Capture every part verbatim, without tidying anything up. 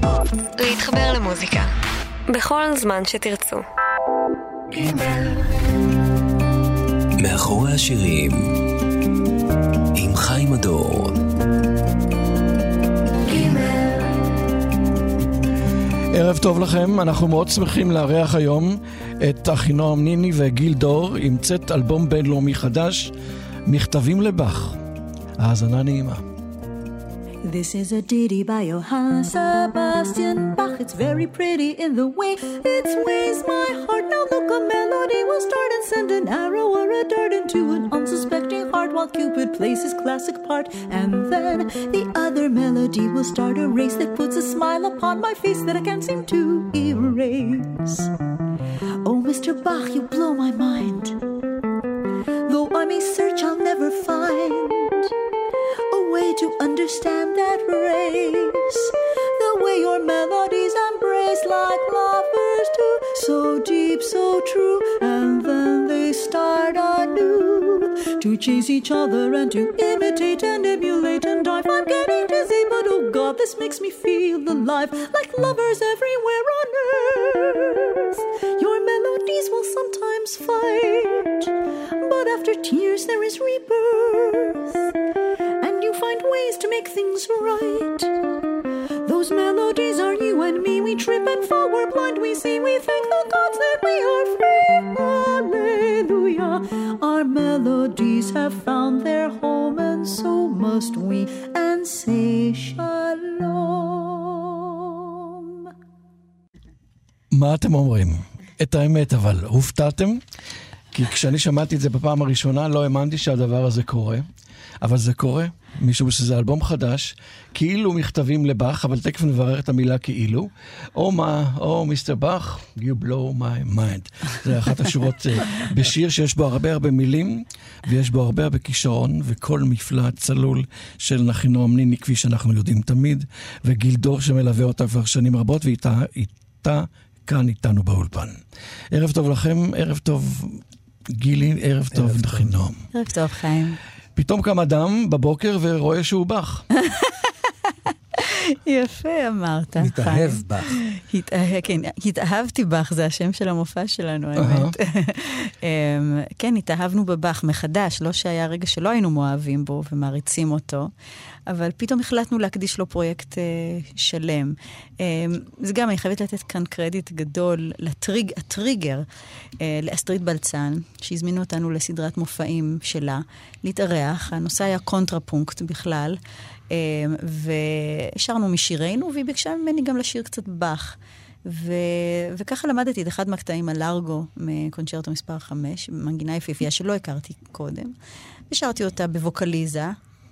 להתחבר למוזיקה בכל זמן שתרצו. מאחורי השירים עם חיים הדור. ערב טוב לכם, אנחנו מאוד שמחים לארח היום את אחינועם ניני וגיל דור עם צאת אלבום בינלאומי חדש, מכתבים לבח. האזנה נעימה. This is a ditty by Johann Sebastian Bach. It's very pretty in the way it sways my heart. Now look, a melody will start and send an arrow or a dart into an unsuspecting heart while Cupid plays his classic part. And then the other melody will start a race that puts a smile upon my face that I can't seem to erase. Oh, Mister Bach, you blow my mind. Though I may search, I'll never find a way to understand that race, the way your melodies embrace like lovers do, so deep, so true, and then they start anew to chase each other and to imitate and emulate and dive. I'm getting dizzy, but oh God, this makes me feel alive, like lovers everywhere on earth. Your melodies will sometimes fight, but after tears there is rebirth, and you find ways to make things right. Those melodies are you and me. We trip and fall, we're blind, we see, we thank the gods that we are free. Hallelujah. Our melodies have found their home, and so must we, and say shalom. מה אתם אומרים? את האמת, אבל הופתעתם? כי כשאני שמעתי את זה בפעם הראשונה לא האמנתי שהדבר הזה קורה, אבל זה קורה, משום שזה אלבום חדש, כאילו מכתבים לבח, אבל תכף נברר את המילה כאילו. או מה, או מיסטר בח, you blow my mind. זה אחת השורות בשיר שיש בו הרבה הרבה מילים, ויש בו הרבה הרבה כישרון, וכל מפלא צלול של אחינועם ניני, כפי שאנחנו יודעים תמיד, וגיל דור שמלווה אותה כבר שנים רבות, ואיתה איתה, כאן איתנו באולפן. ערב טוב לכם, ערב טוב גילי, ערב טוב אחינועם. ערב טוב חיים. פתאום קם אדם בבוקר ורואה שהוא בח. יפה אמרת. התאהב בך. כן, התאהבתי בך, זה השם של המופע שלנו, האמת. כן, התאהבנו בבח מחדש, לא שהיה רגע שלא היינו מאוהבים בו ומעריצים אותו, אבל פתאום החלטנו להקדיש לו פרויקט שלם. זה גם, אני חייבת לתת כאן קרדיט גדול לטריגר, לאסטרית בלצן, שהזמינו אותנו לסדרת מופעים שלה, להתארח. הנושא היה קונטרפונקט בכלל, והשארנו משירנו, והיא ביקשה ממני גם לשיר קצת בח. ו... וככה למדתי את אחד מהקטעים הלארגו מקונצ'רטו מספר חמש, מנגינה יפיפייה שלא הכרתי קודם, ושרתי אותה בווקליזה,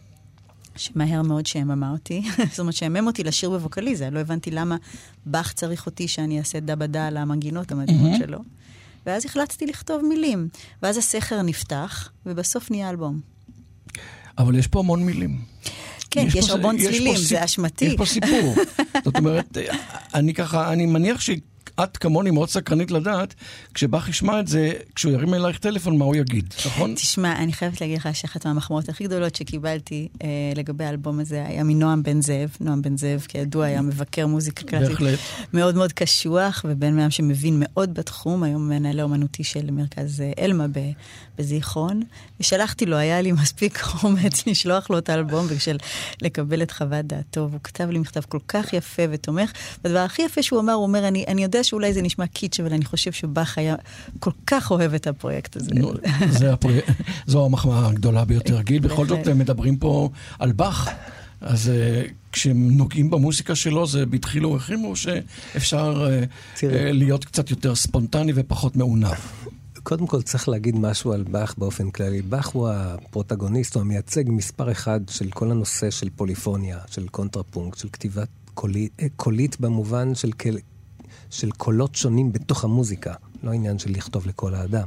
שמהר מאוד שהממה אותי, זאת אומרת שהמם אותי לשיר בווקליזה, לא הבנתי למה בח צריך אותי שאני אעשה דבדה על המנגינות המדהימות שלו, ואז החלטתי לכתוב מילים, ואז הסכר נפתח, ובסוף נהיה אלבום. אבל יש פה המון מילים. כן, יש, יש הרבה צלילים, זה אשמתי. יש פה סיפור. זאת אומרת, אני ככה, אני מניח שאת כמוני מאוד סקרנית לדעת, כשבח ישמע את זה, כשהוא ירים אלייך טלפון, מה הוא יגיד, נכון? תשמע, אני חייבת להגיד לך שאחת מהמחמאות הכי גדולות שקיבלתי אה, לגבי האלבום הזה, היה מנועם בן זאב. נועם בן זאב, כידוע, היה מבקר מוזיקה קלאסית. בהחלט. מאוד מאוד קשוח, ובן מהם שמבין מאוד בתחום, היום מנהל האומנותי של מרכז אלמה בזיכרון, ושלחתי לו, היה לי מספיק אומץ לשלוח לו את האלבום, וכשל לקבל את חוות דעתו, והוא כתב לי מכתב כל כך יפה ותומך, והדבר הכי יפה שהוא אמר, הוא אומר, אני, אני יודע שאולי זה נשמע קיץ', אבל אני חושב שבח היה כל כך אוהב את הפרויקט הזה. נו, זה הפרויקט, זו המחמאה הגדולה ביותר. גיל, בכל זאת מדברים פה על בח, אז כשהם נוגעים במוסיקה שלו, זה בתחילו ורחימו, או שאפשר להיות קצת יותר ספונטני ופחות מעונב? קודם כל צריך להגיד משהו על בח באופן כללי. בח הוא הפרוטגוניסט, הוא המייצג מספר אחד של כל הנושא של פוליפוניה, של קונטרפונקט, של כתיבת קולית, קולית במובן של, של קולות שונים בתוך המוזיקה, לא עניין של לכתוב לכל האדם.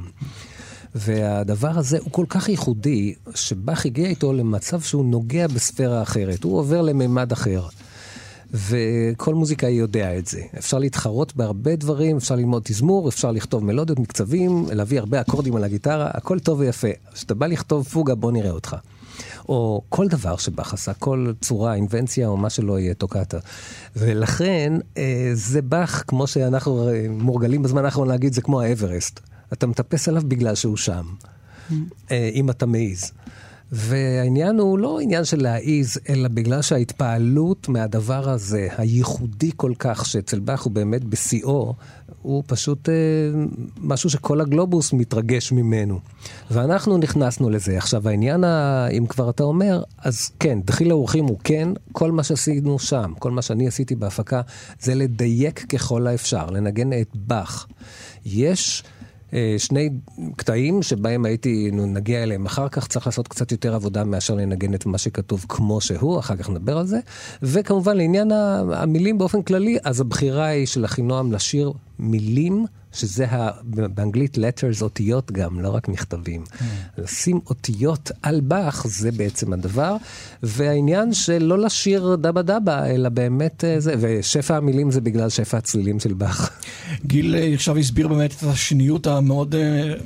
והדבר הזה הוא כל כך ייחודי, שבח הגיע איתו למצב שהוא נוגע בספירה אחרת, הוא עובר לממד אחר. וכל מוזיקאי יודע את זה. אפשר להתחרות בהרבה דברים, אפשר ללמוד תזמור, אפשר לכתוב מלודיות, מקצבים, להביא הרבה אקורדים על הגיטרה, הכל טוב ויפה. כשאתה בא לכתוב פוגה, בוא נראה אותך. או כל דבר שבאך עשה, כל צורה, אינבנציה או מה שלא יהיה טוקטה. ולכן זה באך, כמו שאנחנו מורגלים בזמן האחרון להגיד, זה כמו האברסט. אתה מטפס עליו בגלל שהוא שם, אם אתה מעיז. והעניין הוא לא עניין של להעיז, אלא בגלל שההתפעלות מהדבר הזה, הייחודי כל כך, שאצל באך הוא באמת בשיאו, הוא פשוט אה, משהו שכל הגלובוס מתרגש ממנו. ואנחנו נכנסנו לזה. עכשיו, העניין, ה... אם כבר אתה אומר, אז כן, דחיל האורחים הוא כן, כל מה שעשינו שם, כל מה שאני עשיתי בהפקה, זה לדייק ככל האפשר, לנגן את באך. יש שני קטעים שבהם הייתי נגיע אליהם אחר כך, צריך לעשות קצת יותר עבודה מאשר לנגן את מה שכתוב כמו שהוא, אחר כך נדבר על זה, וכמובן לעניין המילים באופן כללי, אז הבחירה היא של אחינועם לשיר מילים, שזה באנגלית letters, אותיות גם, לא רק מכתבים. לשים אותיות על באך, זה בעצם הדבר, והעניין של לא לשיר דבה דבה, אלא באמת זה, ושפע המילים זה בגלל שפע הצלילים של באך. גיל עכשיו הסביר באמת את השניות המאוד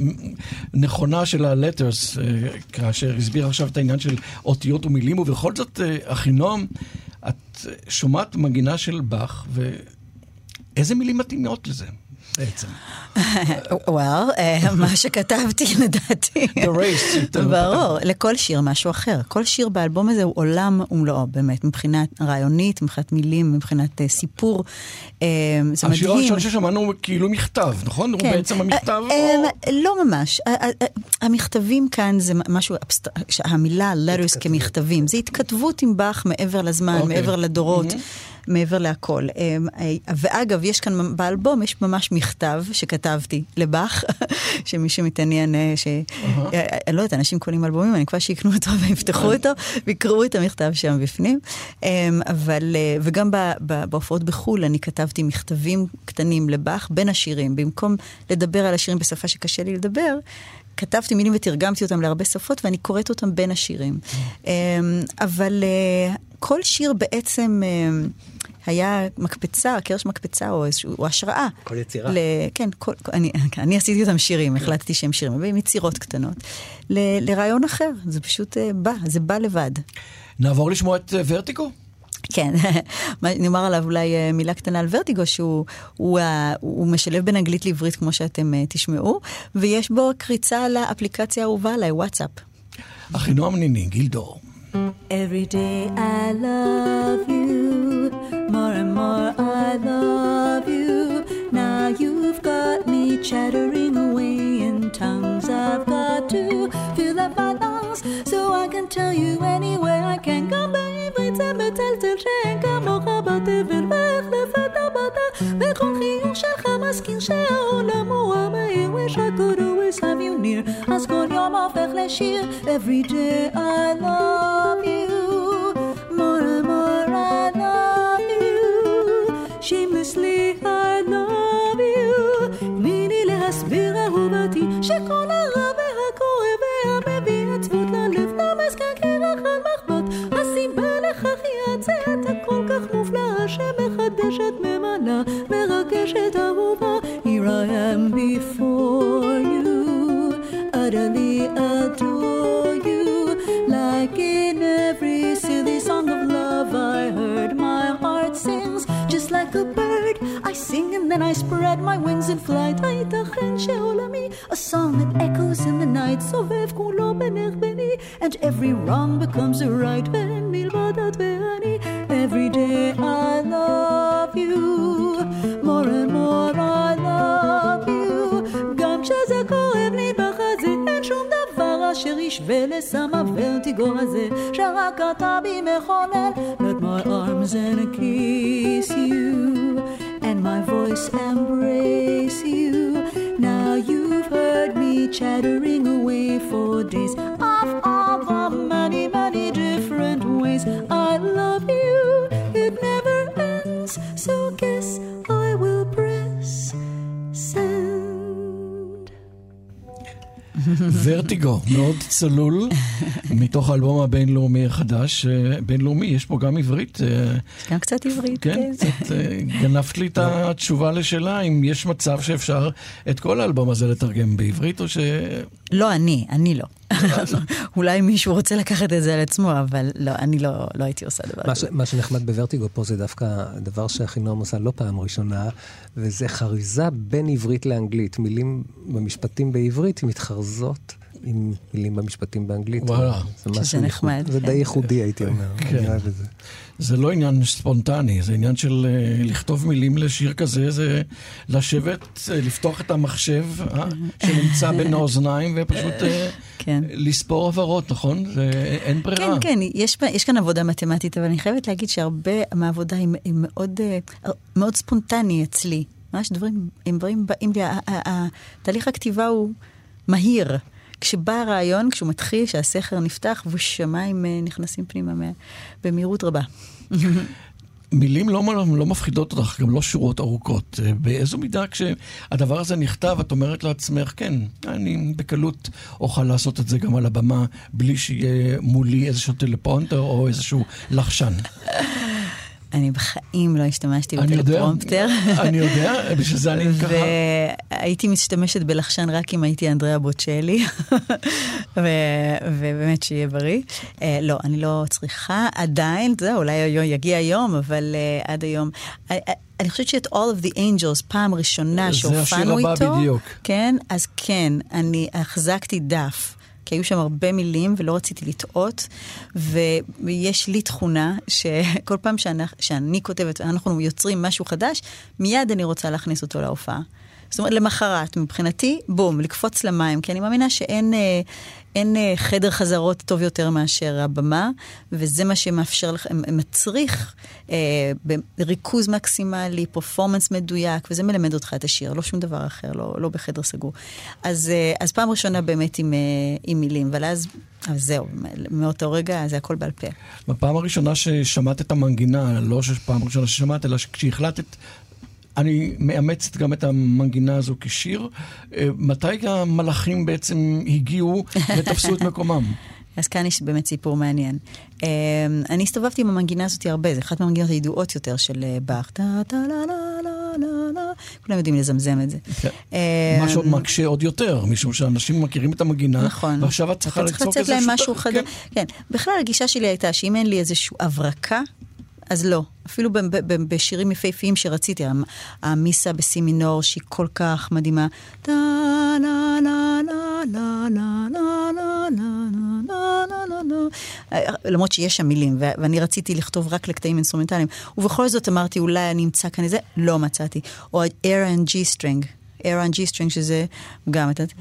נכונה של ה-letters, כאשר הסביר עכשיו את העניין של אותיות ומילים, ובכל זאת, אחינועם, את שומעת מגינה של באך, ואיזה מילים מתאימות לזה? בעצם. וואו, מה שכתבתי לדעתי. ברור, לכל שיר משהו אחר. כל שיר באלבום הזה הוא עולם ומלואו, באמת, מבחינת רעיונית, מבחינת מילים, מבחינת סיפור. זה מדהים. השיר הראשון ששמענו כאילו מכתב, נכון? הוא בעצם המכתב? לא ממש. המכתבים כאן זה משהו, המילה letters כמכתבים. זה התכתבות עם באך מעבר לזמן, מעבר לדורות. מעבר להכל. ואגב, יש כאן באלבום, יש ממש מכתב שכתבתי לבאך, שמי שמתעניין, אני לא יודעת, אנשים קונים אלבומים, אני כבר שיקנו אותו ויפתחו אותו, ויקראו את המכתב שם בפנים. אבל, וגם בהופעות בחול, אני כתבתי מכתבים קטנים לבאך בין השירים, במקום לדבר על השירים בשפה שקשה לי לדבר, כתבתי מילים ותרגמתי אותם להרבה שפות, ואני קוראת אותם בין השירים. אבל כל שיר בעצם היה מקפצה, קרש מקפצה, או איזשהו, השראה. כל יצירה. ל, כן, כל, אני, אני עשיתי אותם שירים, החלטתי שהם שירים, אבל עם יצירות קטנות. ל, לרעיון אחר, זה פשוט בא, זה בא לבד. נעבור לשמוע את ורטיגו? כן, נאמר עליו אולי מילה קטנה על ורטיגו, שהוא הוא, הוא משלב בין אנגלית לעברית, כמו שאתם תשמעו, ויש בו קריצה לאפליקציה האהובה עליי, וואטסאפ. אחינועם ניני, גיל דור. Every day I love you, more and more I love you. Now you've got me chattering away in tongues. I've got to fill up my lungs so I can tell you anywhere I can. גם בעברית זה מטלטל שאין כמוך בתבל והחלפת הבטה וכל חיוך שלך מזכיר שהעולם הוא המהיר. Wish I could always have you near. אז כל יום הופך לשיר. Every day I love you, more and more I love you. Shamelessly I love you. תני להסביר אהובתי שכל הרע והכואב והמביא עצבות ללב נמזכר כרח על מחבות. הסיבה לכך היא הצעת הכל כך מופלאה שמחדשת ממנה מרגשת אהובה. Here I am before you, utterly adore you. Like in every silly song of love I heard, my heart sings just like a bird. I sing and then I spread my wings in flight. הייתכן שעולמי, a song that echoes in the night, סובב כולו בינך ביני, and every wrong becomes a right. ואין מלבד את ואני. Every day I love you, more and more I love you. גם כשזה כואב לי בחזה, אין שום דבר אשר ישווה לסם הוורטיגו הזה שרק אתה בי מחולל. Let my arms and kiss you and my voice embrace you. Now you've heard me chattering away for days of all the many, many different ways. I love you, it never ends, so guess I will press send. ורטיגו, מאוד צלול, מתוך האלבום הבינלאומי החדש. בינלאומי, יש פה גם עברית. גם קצת עברית, כן. כן. קצת גנפת לי את התשובה לשאלה, אם יש מצב שאפשר את כל האלבום הזה לתרגם בעברית, או ש... לא, אני, אני לא. אולי מישהו רוצה לקחת את זה על עצמו, אבל לא, אני לא, לא הייתי עושה דבר מה, כזה. ש, מה שנחמד בוורטיגו פה זה דווקא דבר שאחינועם עושה לא פעם ראשונה, וזה חריזה בין עברית לאנגלית. מילים במשפטים בעברית מתחרזות עם מילים במשפטים באנגלית. וואלה. זה שזה נחמד. זה די ייחודי, הייתי אומר. אני אוהב את זה. זה לא עניין ספונטני, זה עניין של uh, לכתוב מילים לשיר כזה, זה לשבת, uh, לפתוח את המחשב uh, שנמצא בין האוזניים, ופשוט uh, כן. לספור עברות, נכון? זה, אין ברירה. כן, כן, יש, יש כאן עבודה מתמטית, אבל אני חייבת להגיד שהרבה מהעבודה היא, היא מאוד, uh, מאוד ספונטני אצלי. ממש דברים, הם דברים באים לי, התהליך הכתיבה הוא מהיר. כשבא הרעיון, כשהוא מתחיל, שהסכר נפתח, ושמיים נכנסים פנימה במהירות רבה. מילים לא, לא מפחידות אותך, גם לא שורות ארוכות. באיזו מידה כשהדבר הזה נכתב, את אומרת לעצמך, כן, אני בקלות אוכל לעשות את זה גם על הבמה, בלי שיהיה מולי איזשהו טלפרומפטר או איזשהו לחשן. אני בחיים לא השתמשתי בטלפרומפטר. אני יודע, בשביל זה אני ככה. והייתי משתמשת בלחשן רק אם הייתי אנדריאה בוצ'לי, ובאמת שיהיה בריא. לא, אני לא צריכה עדיין, זה אולי יגיע היום, אבל עד היום. אני חושבת שאת All of the Angels, פעם ראשונה שהופענו איתו, זה השיר הבא בדיוק. כן, אז כן, אני החזקתי דף. כי היו שם הרבה מילים ולא רציתי לטעות, ויש לי תכונה שכל פעם שאני, שאני כותבת, אנחנו יוצרים משהו חדש, מיד אני רוצה להכניס אותו להופעה. זאת אומרת, למחרת, מבחינתי, בום, לקפוץ למים, כי אני מאמינה שאין אין חדר חזרות טוב יותר מאשר הבמה, וזה מה שמאפשר לך, מצריך אה, בריכוז מקסימלי, פרפורמנס מדויק, וזה מלמד אותך את השיר, לא שום דבר אחר, לא, לא בחדר סגור. אז, אה, אז פעם ראשונה באמת עם, אה, עם מילים, אבל אז, אז זהו, מאותו רגע זה הכל בעל פה. בפעם הראשונה ששמעת את המנגינה, לא שפעם ראשונה ששמעת, אלא כשהחלטת, אני מאמצת גם את המנגינה הזו כשיר. מתי המלאכים בעצם הגיעו ותפסו את מקומם? אז כאן יש באמת סיפור מעניין. אני הסתובבתי עם המנגינה הזאת הרבה, זה אחת מהמנגינות הידועות יותר של באך. כולם יודעים לזמזם את זה. מה שעוד מקשה עוד יותר, משום שאנשים מכירים את המנגינה, ועכשיו את צריכה לצוק איזה משהו חדש. כן, בכלל הגישה שלי הייתה שאם אין לי איזושהי הברקה, אז לא. אפילו בשירים יפהפיים שרציתי, המיסה בסי מינור, שהיא כל כך מדהימה. למרות שיש שם מילים, ואני רציתי לכתוב רק לקטעים אינסטרומנטליים, ובכל זאת אמרתי, אולי אני אמצא כאן איזה, לא מצאתי. או A and G string, A and G string, שזה גם את...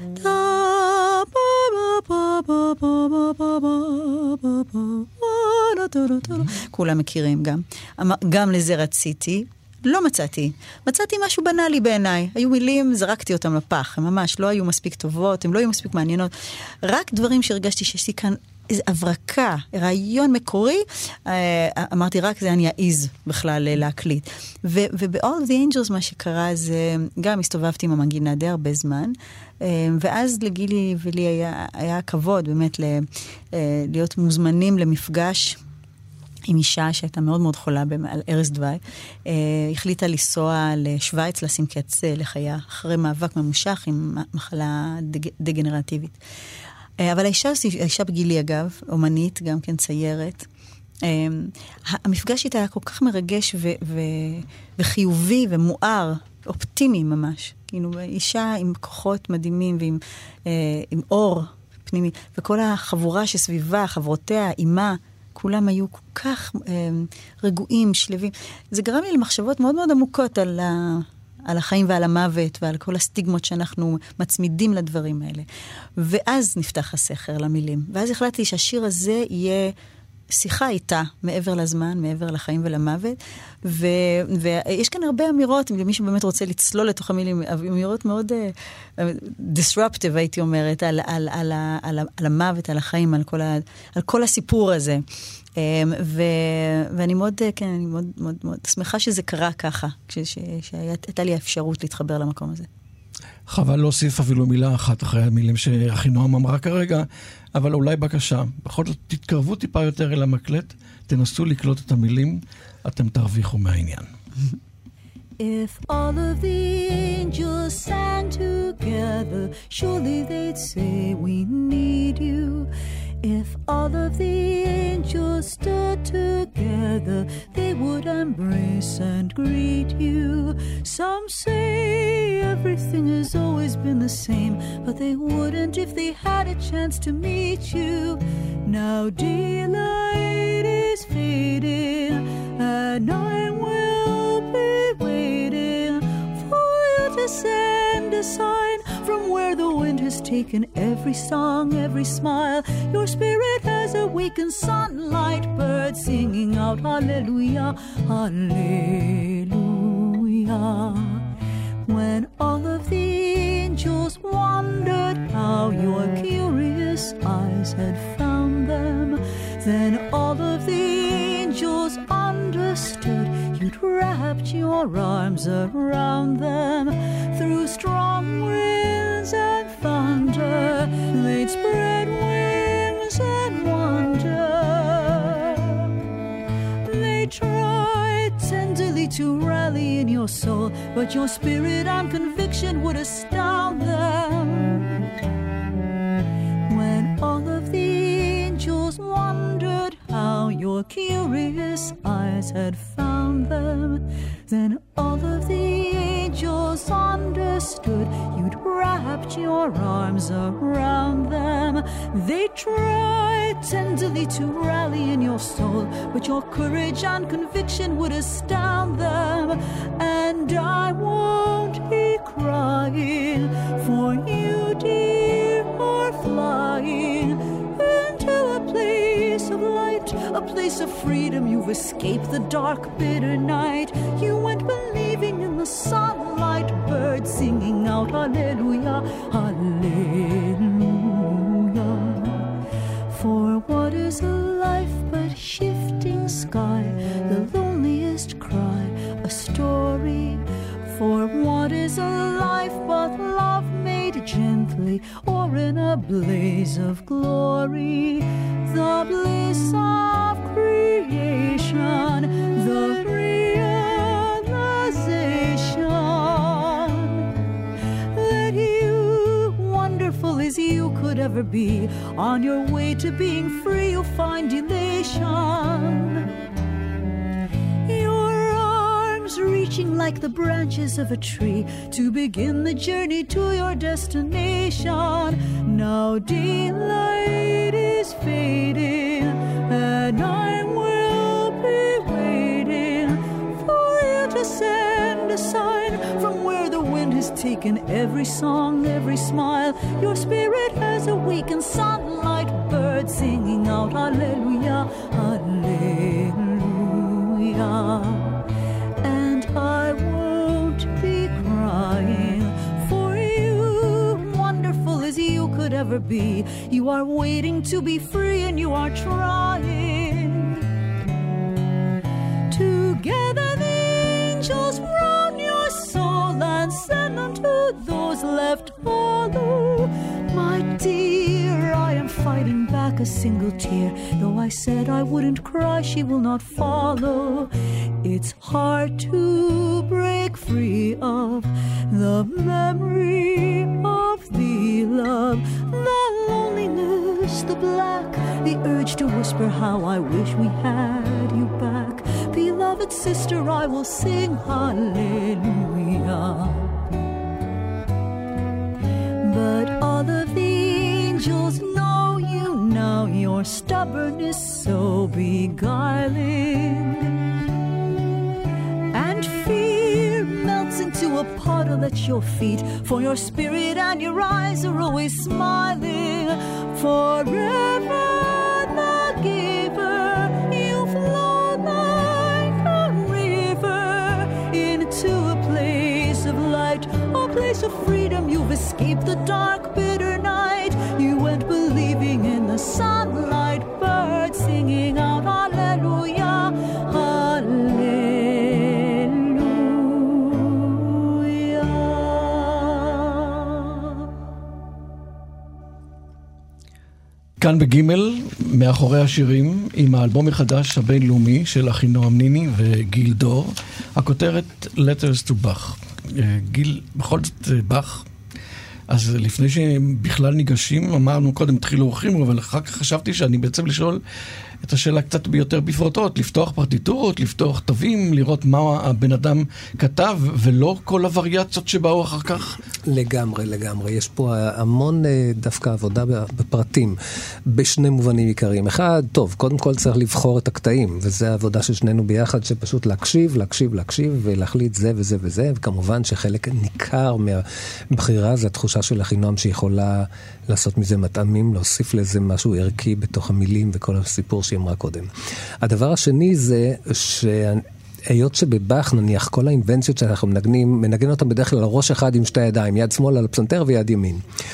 כולם מכירים גם. גם לזה רציתי, לא מצאתי. מצאתי משהו בנאלי בעיניי. היו מילים, זרקתי אותם לפח. הם ממש לא היו מספיק טובות, הם לא היו מספיק מעניינות. רק דברים שהרגשתי שיש לי כאן איזו הברקה, רעיון מקורי, אמרתי רק זה אני אעיז בכלל להקליט. וב-All of the Angels מה שקרה זה, גם הסתובבתי עם המנגינה די הרבה זמן, ואז לגילי ולי היה, היה כבוד באמת להיות מוזמנים למפגש עם אישה שהייתה מאוד מאוד חולה על ערש דווי, החליטה לנסוע לשוויץ, לשים קץ לחיה, אחרי מאבק ממושך עם מחלה דגנרטיבית. אבל האישה, האישה בגילי אגב, אומנית, גם כן ציירת, המפגש איתה היה כל כך מרגש ו- ו- וחיובי ומואר, אופטימי ממש. כאילו, אישה עם כוחות מדהימים ועם עם אור פנימי, וכל החבורה שסביבה, חברותיה, אימה, כולם היו כל כך רגועים, שלווים. זה גרם לי למחשבות מאוד מאוד עמוקות על ה... על החיים ועל המוות ועל כל הסטיגמות שאנחנו מצמידים לדברים האלה. ואז נפתח הסכר למילים. ואז החלטתי שהשיר הזה יהיה שיחה איתה, מעבר לזמן, מעבר לחיים ולמוות. ו... ויש כאן הרבה אמירות, אם מישהו באמת רוצה לצלול לתוך המילים, אמירות מאוד uh, disruptive, הייתי אומרת, על, על, על, על, על המוות, על החיים, על כל, ה... על כל הסיפור הזה. ו... ואני מאוד, כן, אני מאוד, מאוד, מאוד שמחה שזה קרה ככה, שהייתה לי האפשרות להתחבר למקום הזה. חבל להוסיף אפילו מילה אחת אחרי המילים שאחינועם אמרה כרגע, אבל אולי בקשה, בכל זאת תתקרבו טיפה יותר אל המקלט, תנסו לקלוט את המילים, אתם תרוויחו מהעניין. If all of the angels sang together, surely they'd say we need you. If all of the angels stood together, they would embrace and greet you. Some say everything has always been the same, but they wouldn't if they had a chance to meet you. Now daylight is fading, and I will be waiting for you to send a sign from where the wind has taken every song, every smile. Your spirit has awakened sunlight, birds singing out hallelujah, hallelujah. When all of the angels wondered how your curious eyes had found them, then all of the angels understood you'd wrapped your arms around them. Through strong winds and thunder, they'd spread wings and wonder. They tried tenderly to rally in your soul, but your spirit and conviction would astound them. When all of the angels wondered how your curious eyes had found them, then all of the angels understood you'd wrapped your arms around them. They tried tenderly to rally in your soul, but your courage and conviction would astound them. And I won't be crying, for you, dear, are flying into a place of light, a place of freedom. You've escaped the dark, bitter night. You went believing in the sunlight, birds singing out hallelujah, hallelujah. For what is a life but shifting sky, the loneliest cry, a story? For what is a life but love made gently, or in a blaze of glory? The bliss of creation, the realization that you, wonderful as you could ever be, on your way to being free you'll find elation. Reaching like the branches of a tree to begin the journey to your destination. Now daylight is fading, and I will be waiting for you to send a sign from where the wind has taken every song, every smile. Your spirit has awakened sunlight, birds singing out hallelujah, hallelujah. I won't be crying, for you, wonderful as you could ever be. You are waiting to be free, and you are trying. Together the angels round your soul and send them to those left hollow. My dear, I am fighting back a single tear. Though I said I wouldn't cry, she will not follow. It's hard to break free of the memory of the love, the loneliness, the black, the urge to whisper how I wish we had you back. Beloved sister, I will sing hallelujah. But all of the angels know you now, your stubbornness so beguiling. And fear melts into a puddle at your feet, for your spirit and your eyes are always smiling. Forever the giver, you flow like a river into a place of light, a place of freedom. You've escaped the dark, bitter night. You went believing in the sunlight, birds singing out hallelujah, hallelujah. כאן בגימל, מאחורי השירים, עם האלבום החדש הבינלאומי של אחינועם ניני וגיל דור, הכותרת Letters to Bach. גיל, בכל זאת בח, אז לפני שבכלל ניגשים, אמרנו קודם התחילו אורחים, אבל אחר כך חשבתי שאני בעצם לשאול את השאלה קצת ביותר בפרוטות, לפתוח פרטיטורות, לפתוח תווים, לראות מה הבן אדם כתב, ולא כל הווריאציות שבאו אחר כך. לגמרי, לגמרי. יש פה המון דווקא עבודה בפרטים, בשני מובנים עיקריים. אחד, טוב, קודם כל צריך לבחור את הקטעים, וזה העבודה של שנינו ביחד, שפשוט להקשיב, להקשיב, להקשיב, ולהחליט זה וזה וזה, וכמובן שחלק ניכר מהבחירה, זה התחושה של אחינועם שיכולה לעשות מזה מטעמים, להוסיף לזה משהו ערכי בתוך המילים וכל הסיפור שהיא אמרה קודם. הדבר השני זה שהיות שבבח נניח כל האינבנציות שאנחנו מנגנים, מנגן אותם בדרך כלל על ראש אחד עם שתי ידיים, יד שמאל על הפסנתר ויד ימין.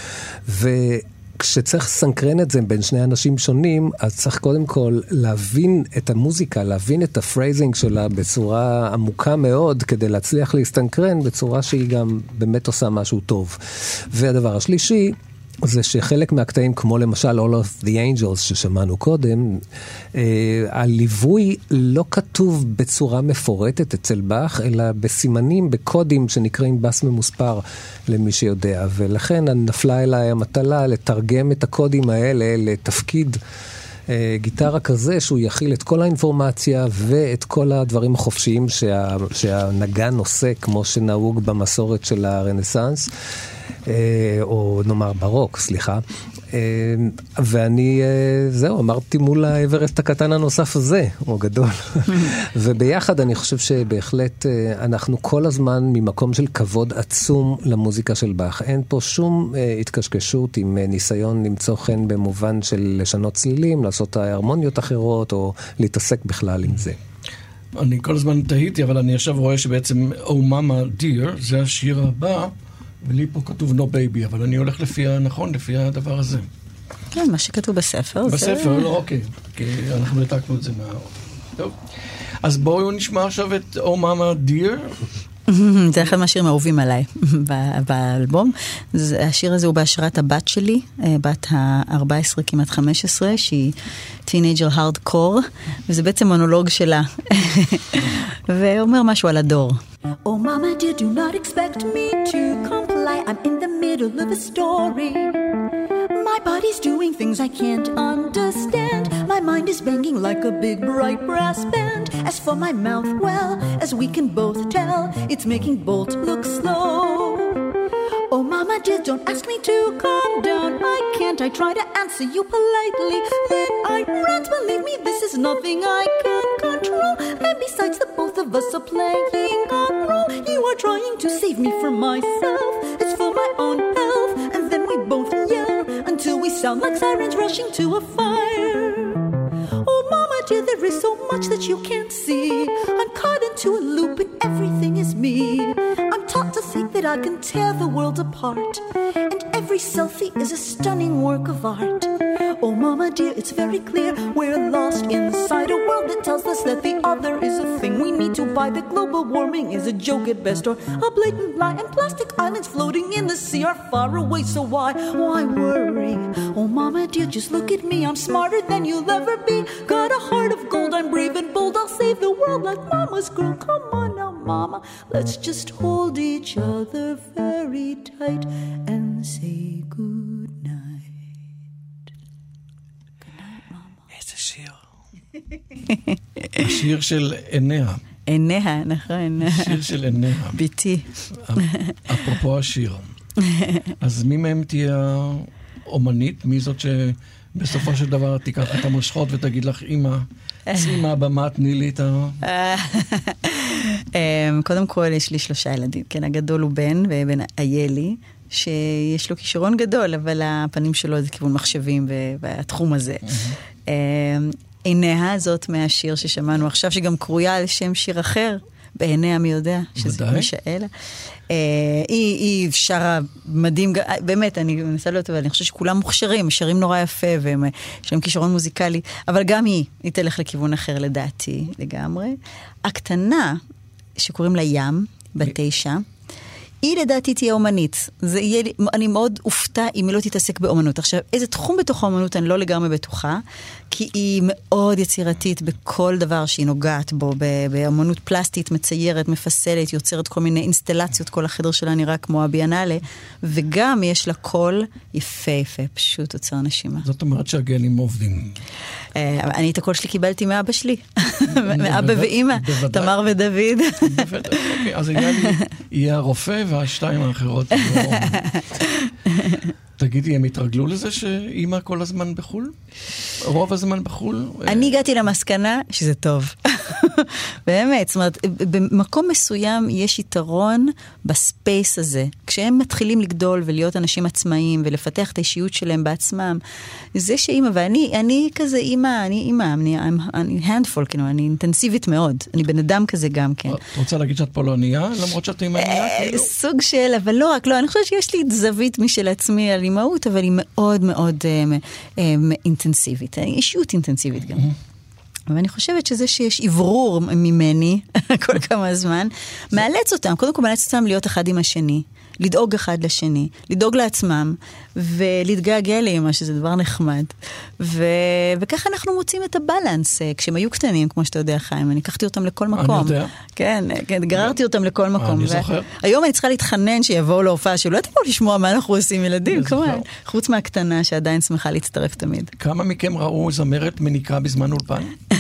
וכשצריך סנקרן את זה בין שני אנשים שונים, אז צריך קודם כל להבין את המוזיקה, להבין את הפרייזינג שלה בצורה עמוקה מאוד, כדי להצליח להסתנקרן בצורה שהיא גם באמת עושה משהו טוב. והדבר השלישי, זה שחלק מהקטעים, כמו למשל All of the Angels ששמענו קודם, אה, הליווי לא כתוב בצורה מפורטת אצל בח, אלא בסימנים, בקודים שנקראים בס ממוספר למי שיודע, ולכן נפלה אליי המטלה לתרגם את הקודים האלה לתפקיד אה, גיטרה כזה, שהוא יכיל את כל האינפורמציה ואת כל הדברים החופשיים שה, שהנגן עושה, כמו שנהוג במסורת של הרנסנס. או נאמר ברוק, סליחה. ואני, זהו, אמרתי מול האברסט הקטן הנוסף הזה, הוא גדול. וביחד אני חושב שבהחלט אנחנו כל הזמן ממקום של כבוד עצום למוזיקה של בח. אין פה שום התקשקשות עם ניסיון למצוא חן במובן של לשנות צלילים, לעשות הרמוניות אחרות, או להתעסק בכלל עם זה. אני כל הזמן תהיתי, אבל אני עכשיו רואה שבעצם Oh Mama Dear, זה השיר הבא, ולי פה כתוב No Baby, אבל אני הולך לפי הנכון, לפי הדבר הזה. כן, מה שכתוב בספר. בספר, לא, אוקיי. כי אנחנו נתקנו את זה מה... טוב. אז בואו נשמע עכשיו את Oh Mama Dear. זה אחד מהשירים האהובים עליי באלבום. השיר הזה הוא בהשראת הבת שלי, בת ה-ארבע עשרה, כמעט חמש עשרה, שהיא טינג'ר הארדקור, וזה בעצם מונולוג שלה. ואומר משהו על הדור. Oh mama dear, do not expect me to comply. I'm in the middle of a story. My body's doing things I can't understand. My mind is banging like a big bright brass band. As for my mouth, well, as we can both tell, it's making Bolt look slow. Oh mama dear, don't ask me to calm down. I can't, I try to answer you politely. Then I rant, believe me, this is nothing I can control. And besides, the both of us are playing a role. You are trying to save me from myself. It's for my own health. And then we both yell until we sound like sirens rushing to a fire. Oh mama dear, there is so much that you can't see. I'm caught into a loop and everything is me. I'm taught to think that I can tear the world apart, and every selfie is a stunning work of art. Oh mama dear, it's very clear we're lost inside a world that tells us that the other is a thing we need to buy, that global warming is a joke at best, or a blatant lie, and plastic islands floating in the sea are far away, so why, why worry? Oh mama dear, just look at me, I'm smarter than you'll ever be. Got a heart of gold, I'm brave and bold, I'll save the world like mama's girl. Come on now mama, let's just hold each other very tight and say good night. Good night mama. איזה שיר. השיר של עיניה. עיניה, נכון. שיר של עיניה. ביתי. אפרופו השיר. אז מי מהם תהיה אומנית? מי זאת שבסופו של דבר תיקח את המושכות ותגיד לך, אמא, צאי מהבמה, תני לי את ה... קודם כל יש לי שלושה ילדים, כן, הגדול הוא בן, ובן איילי, שיש לו כישרון גדול, אבל הפנים שלו זה כיוון מחשבים והתחום הזה. עיניה הזאת מהשיר ששמענו עכשיו, שגם קרויה על שם שיר אחר, בעיניה מי יודע, שזה משאלה. היא, היא שרה מדהים, באמת, אני מנסה להיות, אבל אני חושבת שכולם מוכשרים, שרים נורא יפה, ויש להם כישרון מוזיקלי, אבל גם היא, היא תלך לכיוון אחר לדעתי, לגמרי. הקטנה, שקוראים לה ים, בת תשע, היא לדעתי תהיה אומנית. זה יהיה, אני מאוד אופתע אם היא לא תתעסק באומנות. עכשיו, איזה תחום בתוך האומנות אני לא לגמרי בטוחה, כי היא מאוד יצירתית בכל דבר שהיא נוגעת בו, באומנות פלסטית, מציירת, מפסלת, יוצרת כל מיני אינסטלציות, כל החדר שלה נראה כמו הביאנלה, וגם יש לה קול יפה יפה, פשוט אוצר נשימה. זאת אומרת שהגנים עובדים. אני את הקול שלי קיבלתי מאבא שלי, מאבא ואמא, תמר ודוד. אז יהיה הרופא והשתיים האחרות. תגידי, הם התרגלו לזה שאמא כל הזמן בחול? רוב הזמן בחול? אני הגעתי למסקנה שזה טוב. באמת, זאת אומרת, במקום מסוים יש יתרון בספייס הזה. כשהם מתחילים לגדול ולהיות אנשים עצמאיים ולפתח את האישיות שלהם בעצמם, זה שאמא, ואני אני כזה אמא, אני אמא, אני, אני handful, כאילו, אני אינטנסיבית מאוד. אני בן אדם כזה גם כן. את רוצה להגיד שאת פולניה, למרות שאת אימניה? סוג של, אבל לא רק, לא, אני חושבת שיש לי זווית משל עצמי על אימהות, אבל היא מאוד מאוד אינטנסיבית. אישיות אינטנסיבית גם. ואני חושבת שזה שיש עברור ממני כל כמה זמן, מאלץ אותם, קודם כל מאלץ אותם להיות אחד עם השני, לדאוג אחד לשני, לדאוג לעצמם, ולהתגעגע לאמא, שזה דבר נחמד. ו... וככה אנחנו מוצאים את הבלנס, כשהם היו קטנים, כמו שאתה יודע, חיים, אני לקחתי אותם לכל מקום. אני יודע. כן, כן, גררתי אותם לכל מקום. אני זוכר. היום אני צריכה להתחנן שיבואו להופעה, שלא תבואו לשמוע מה אנחנו עושים ילדים, כמובן. חוץ מהקטנה שעדיין שמחה להצטרף תמיד. כמה מכם ראו זמרת מניקה בזמן אולפן?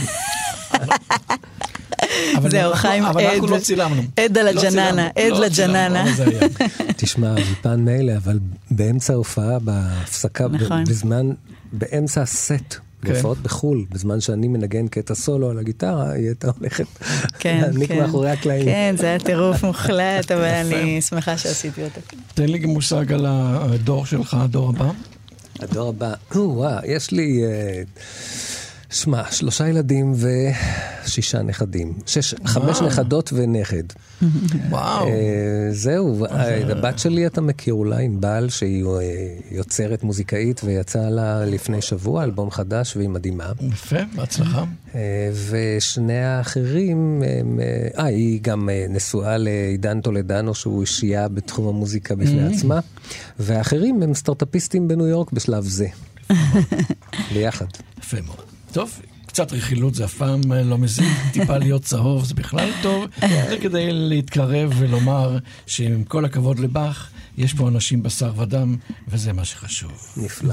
זהו, חיים, אבל אנחנו לא צילמנו. עד על הג'ננה, עד לג'ננה. תשמע, אולפן מילא, אבל באמצע ההופעה, בהפסקה, בזמן, באמצע הסט, בהופעות בחול, בזמן שאני מנגן קטע סולו על הגיטרה, היא הייתה הולכת להניק מאחורי הקלעים. כן, זה היה טירוף מוחלט, אבל אני שמחה שעשיתי אותה. תן לי מושג על הדור שלך, הדור הבא. הדור הבא, וואו, יש לי... שמע, שלושה ילדים ושישה נכדים. שש, חמש נכדות ונכד. וואו. זהו, הבת שלי אתה מכיר אולי עם בעל שהיא יוצרת מוזיקאית ויצאה לה לפני שבוע, אלבום חדש והיא מדהימה. יפה, בהצלחה. ושני האחרים, אה, היא גם נשואה לעידן טולדנו שהוא אישייה בתחום המוזיקה בפני עצמה, והאחרים הם סטארט-אפיסטים בניו יורק בשלב זה. ביחד. יפה מאוד. טוב, קצת רכילות זה אף פעם לא מזיק, טיפה להיות צהוב זה בכלל טוב, זה כדי להתקרב ולומר שעם כל הכבוד לבח, יש פה אנשים בשר ודם, וזה מה שחשוב. נפלא.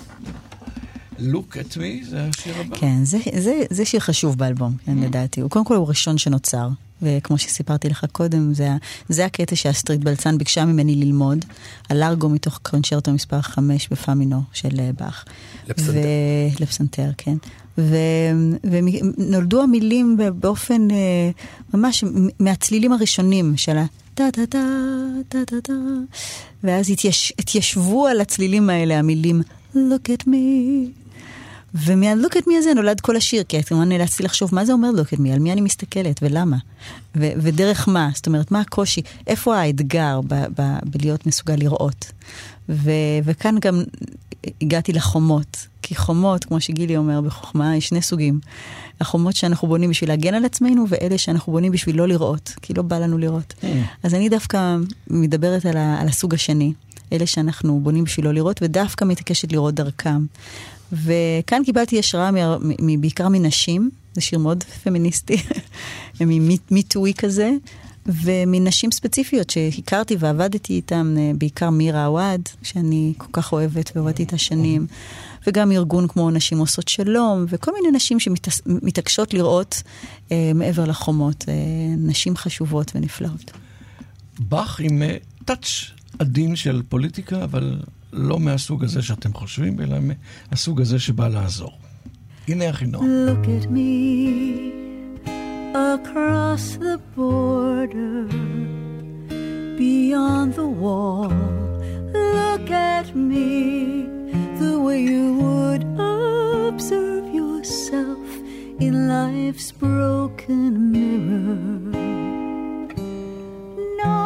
Look at me, זה השיר הבא? כן, זה, זה, זה שיר חשוב באלבום, לדעתי. הוא קודם כל הוא ראשון שנוצר, וכמו שסיפרתי לך קודם, זה, זה הקטע שהסטריט בלצן ביקשה ממני ללמוד, הלארגו מתוך קונצ'רטו מספר חמש בפאמינו של באך. לפסנתר. ו... לפסנתר, כן. ו... ונולדו המילים באופן ממש מהצלילים הראשונים של ה... טה-טה-טה, טה-טה-טה, ואז התייש... התיישבו על הצלילים האלה, המילים Look at me. ומה-Look at me הזה נולד כל השיר, כי כמובן נאלצתי לחשוב מה זה אומר Look at me, על מי אני מסתכלת ולמה, ו- ודרך מה, זאת אומרת, מה הקושי, איפה האתגר ב- ב- בלהיות מסוגל לראות. ו- וכאן גם הגעתי לחומות, כי חומות, כמו שגילי אומר בחוכמה, יש שני סוגים. החומות שאנחנו בונים בשביל להגן על עצמנו, ואלה שאנחנו בונים בשביל לא לראות, כי לא בא לנו לראות. Mm. אז אני דווקא מדברת על, ה- על הסוג השני, אלה שאנחנו בונים בשביל לא לראות, ודווקא מתעקשת לראות דרכם. וכאן קיבלתי השראה בעיקר מנשים, זה שיר מאוד פמיניסטי, מיטוי כזה, ומנשים ספציפיות שהכרתי ועבדתי איתם, בעיקר מירה עווד, שאני כל כך אוהבת ועובדתי את השנים, וגם ארגון כמו נשים עושות שלום, וכל מיני נשים שמתעקשות לראות אה, מעבר לחומות, אה, נשים חשובות ונפלאות. באך עם טאץ' עדין של פוליטיקה, אבל לא מהסוג הזה שאתם חושבים, אלא מהסוג הזה שבא לעזור. הנה החינוך. Look at me across the border beyond the wall. Look at me the way you would observe yourself in life's broken mirror. No,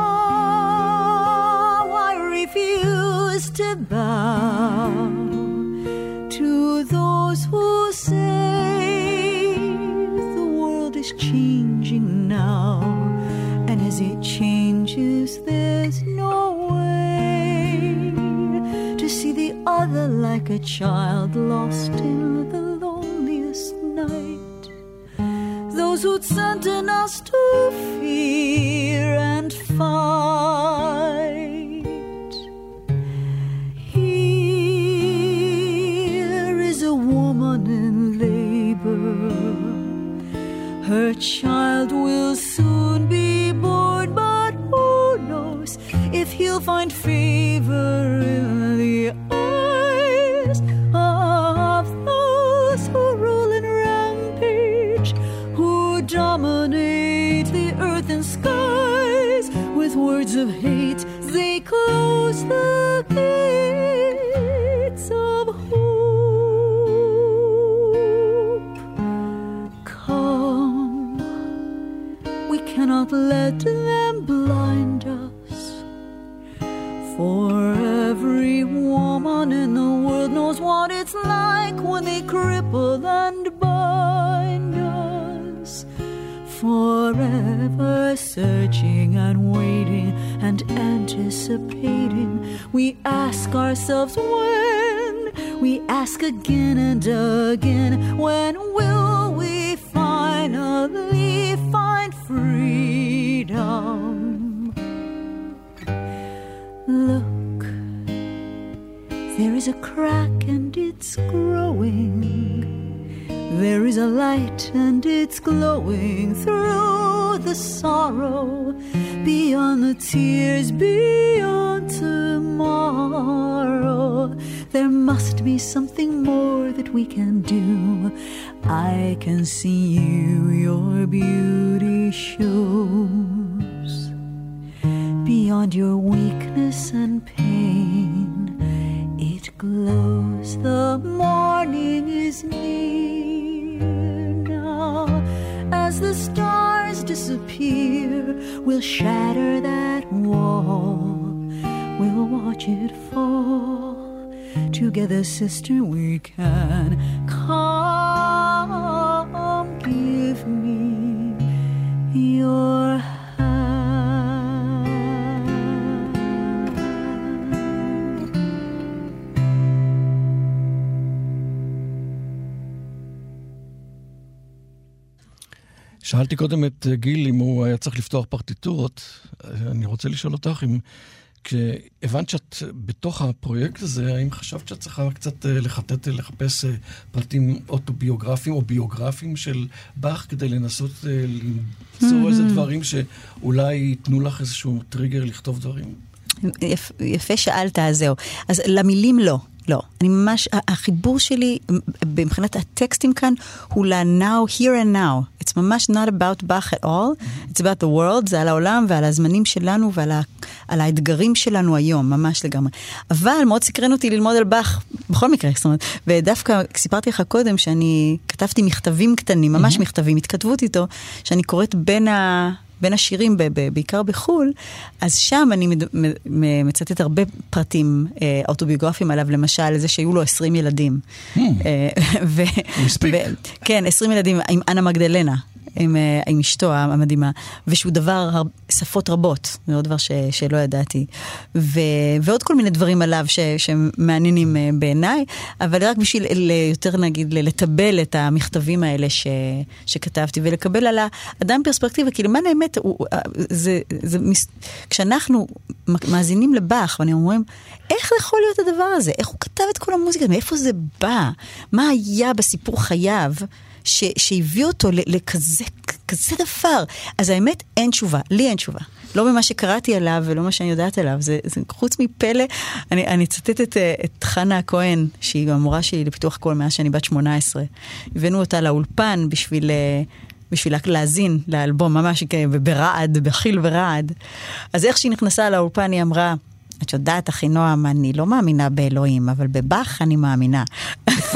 I refuse to bow to those who say the world is changing now and And as it changes, there's no way to see the other like a child lost in the loneliest night. Those who'd sentence us to fear and fight. Here is a woman in labor. Her child will soon be born, but who knows if he'll find favor in the eyes of those who rule and rampage, who dominate the earth and skies. With words of hate, they close the gates of hope. Come, we cannot let them blind us. For every woman in the world knows what it's like when they cripple and bind us. Forever searching and waiting and anticipating, we ask ourselves when, we ask again and again, when will we finally find freedom? Look, there is a crack and it's growing. There is a light and it's glowing through the sorrow, beyond the tears, beyond tomorrow. There must be something more that we can do. I can see you, your beauty shows. Beyond your weakness and pain, it glows. The morning is near now. As the stars disappear, we'll shatter that wall. We'll watch it fall. Together, sister, we can. Come, give me your שאלתי קודם את גיל אם הוא היה צריך לפתוח פרטיטורות. אני רוצה לשאול אותך אם כשהבנת שאת בתוך הפרויקט הזה, האם חשבת שאת צריכה קצת לחטט, לחפש פרטים אוטוביוגרפיים או ביוגרפיים של באך כדי לנסות למצוא איזה דברים שאולי ייתנו לך איזשהו טריגר לכתוב דברים? יפה שאלת, אז זהו. אז למילים לא. לא, אני ממש, החיבור שלי מבחינת הטקסטים כאן הוא ל-now, here and now. It's ממש not about Bach at all. It's about the world, זה על העולם ועל הזמנים שלנו ועל ה, על האתגרים שלנו היום, ממש לגמרי. אבל מאוד סקרן אותי ללמוד על Bach, בכל מקרה, זאת אומרת, ודווקא סיפרתי לך קודם שאני כתבתי מכתבים קטנים, ממש מכתבים, התכתבות איתו, שאני קוראת בין ה... בין השירים, ב- ב- בעיקר בחול, אז שם אני מד- מ- מצטט הרבה פרטים אה, אוטוביוגרפיים עליו, למשל, זה שהיו לו עשרים ילדים. Hmm. ו- מספיק. ו- כן, עשרים ילדים עם אנה מגדלנה. עם, עם אשתו המדהימה, ושהוא דבר שפות רבות, זה עוד דבר ש, שלא ידעתי, ו, ועוד כל מיני דברים עליו ש, שמעניינים בעיניי, אבל רק בשביל יותר נגיד לטבל את המכתבים האלה ש, שכתבתי, ולקבל על האדם פרספקטיבה, כי למען האמת, הוא, זה, זה, כשאנחנו מאזינים לבח, ואני אומרים, איך זה יכול להיות הדבר הזה? איך הוא כתב את כל המוזיקה? מאיפה זה בא? מה היה בסיפור חייו? ש, שהביא אותו לכזה כזה דבר. אז האמת, אין תשובה. לי אין תשובה. לא במה שקראתי עליו ולא מה שאני יודעת עליו. זה, זה חוץ מפלא. אני, אני צטט את, את חנה הכהן, שהיא המורה שלי לפיתוח קול מאז שאני בת שמונה עשרה. הבאנו אותה לאולפן בשביל... בשביל להזין לאלבום, ממש ברעד, בחיל ורעד. אז איך שהיא נכנסה לאולפן, היא אמרה, את יודעת, אחי נועם, אני לא מאמינה באלוהים, אבל בבח אני מאמינה. יפה.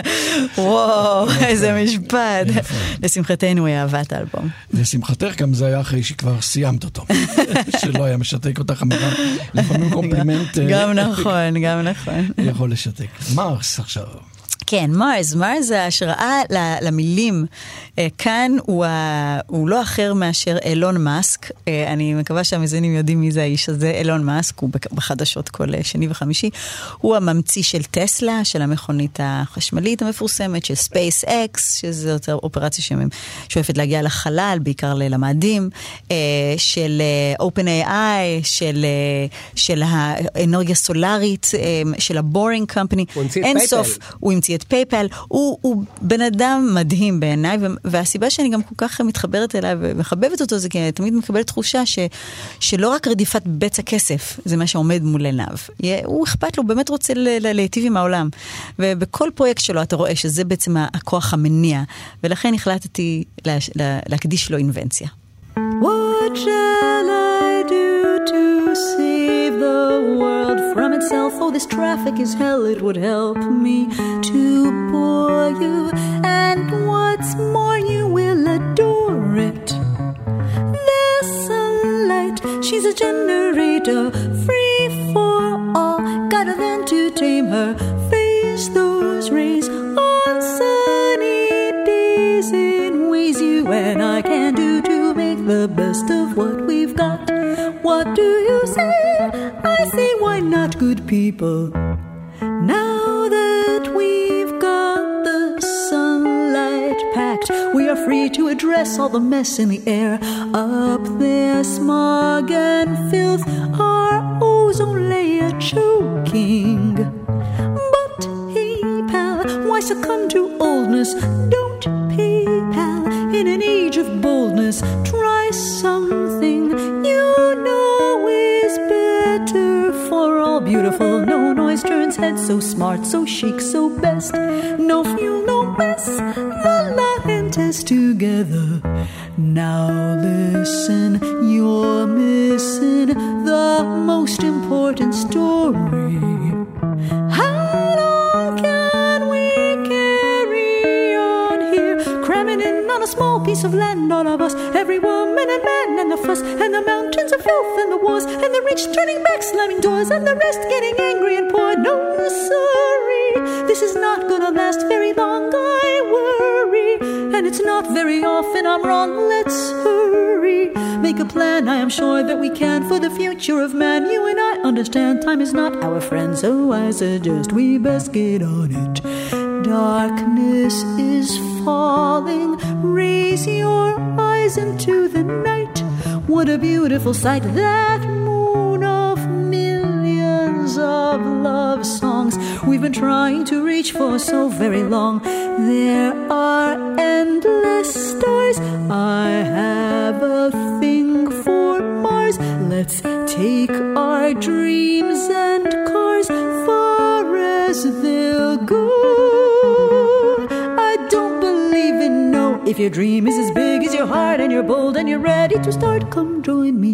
וואו, איזה משפט. לשמחתנו היא אהבה את האלבום. לשמחתך גם זה היה אחרי שכבר סיימת אותו. שלא היה משתק אותך אמירה. לפעמים קומפלימנט... גם נכון, גם נכון. יכול לשתק. מרס עכשיו. כן, מרס, מרס ההשראה למילים כאן הוא, הוא לא אחר מאשר אילון מאסק. אני מקווה שהמזינים יודעים מי זה האיש הזה. אילון מאסק הוא בחדשות כל שני וחמישי. הוא הממציא של טסלה, של המכונית החשמלית המפורסמת, של ספייס אקס, שזאת אופרציה ששואפת להגיע לחלל, בעיקר למאדים, של אופן איי איי, של, של האנרגיה סולארית, של הבורינג קמפני. אין סוף, הוא המציא את פייפל. הוא, הוא בן אדם מדהים בעיניי, והסיבה שאני גם כל כך מתחברת אליו ומחבבת אותו, זה כי אני תמיד מקבלת תחושה ש, שלא רק רדיפת בצע כסף, זה מה שעומד מול עיניו. הוא אכפת לו, באמת רוצה להיטיב עם העולם. ובכל פרויקט שלו אתה רואה שזה בעצם הכוח המניע, ולכן החלטתי לה, לה, להקדיש לו אינבנציה. What shall I do to save the world from itself? Oh, this traffic is hell, it would help me to bore you. And what's more, you will adore it. This sunlight, she's a generator, free for all. Gotta learn to tame her, face those rays on sunny days in ways you and I can do to make the best of what we've got. What do you say? I say, why not, good people? Now that we've got the sunlight packed, we are free to address all the mess in the air. Up there, smog and filth, our ozone layer choking. But hey, pal, why succumb to oldness? Don't pay, pal, in an age of boldness. Try something you know is better for all. Beautiful, no noise turns heads, so smart, so chic, so best. No fuel, no mess, the La Gentes together. Now listen, you're missing the most important story. How long can we carry on here, cramming in on a small piece of land, all of us, every woman and man, and the fuss, and the mountains of filth, and the wars, and the rich turning back, slamming doors, and the rest getting angry and poor? No, sorry, this is not gonna last very long, I worry, and it's not very often I'm wrong. Let's hurry, make a plan, I am sure that we can, for the future of man. You and I understand time is not our friend, so I suggest we best get on it. Darkness is falling, raise your eyes into the night. What a beautiful sight, that moon of millions of love songs we've been trying to reach for so very long. There are endless stars, I have a thing for Mars. Let's take our dreams and cars far as they'll go. I don't believe in no. If your dream is as big as your heart and you're bold and you're ready to start, come join me.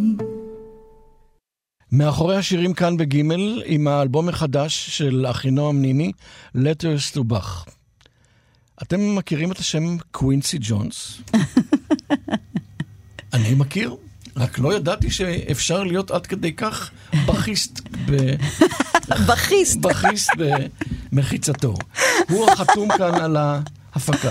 מאחורי השירים כאן בגימל, עם האלבום החדש של אחינועם ניני, Letters to Bach. אתם מכירים את השם קווינסי ג'ונס? אני מכיר, רק לא ידעתי שאפשר להיות עד כדי כך בכיסט ב... בכיסט. בכיסט במחיצתו. הוא החתום כאן על ההפקה.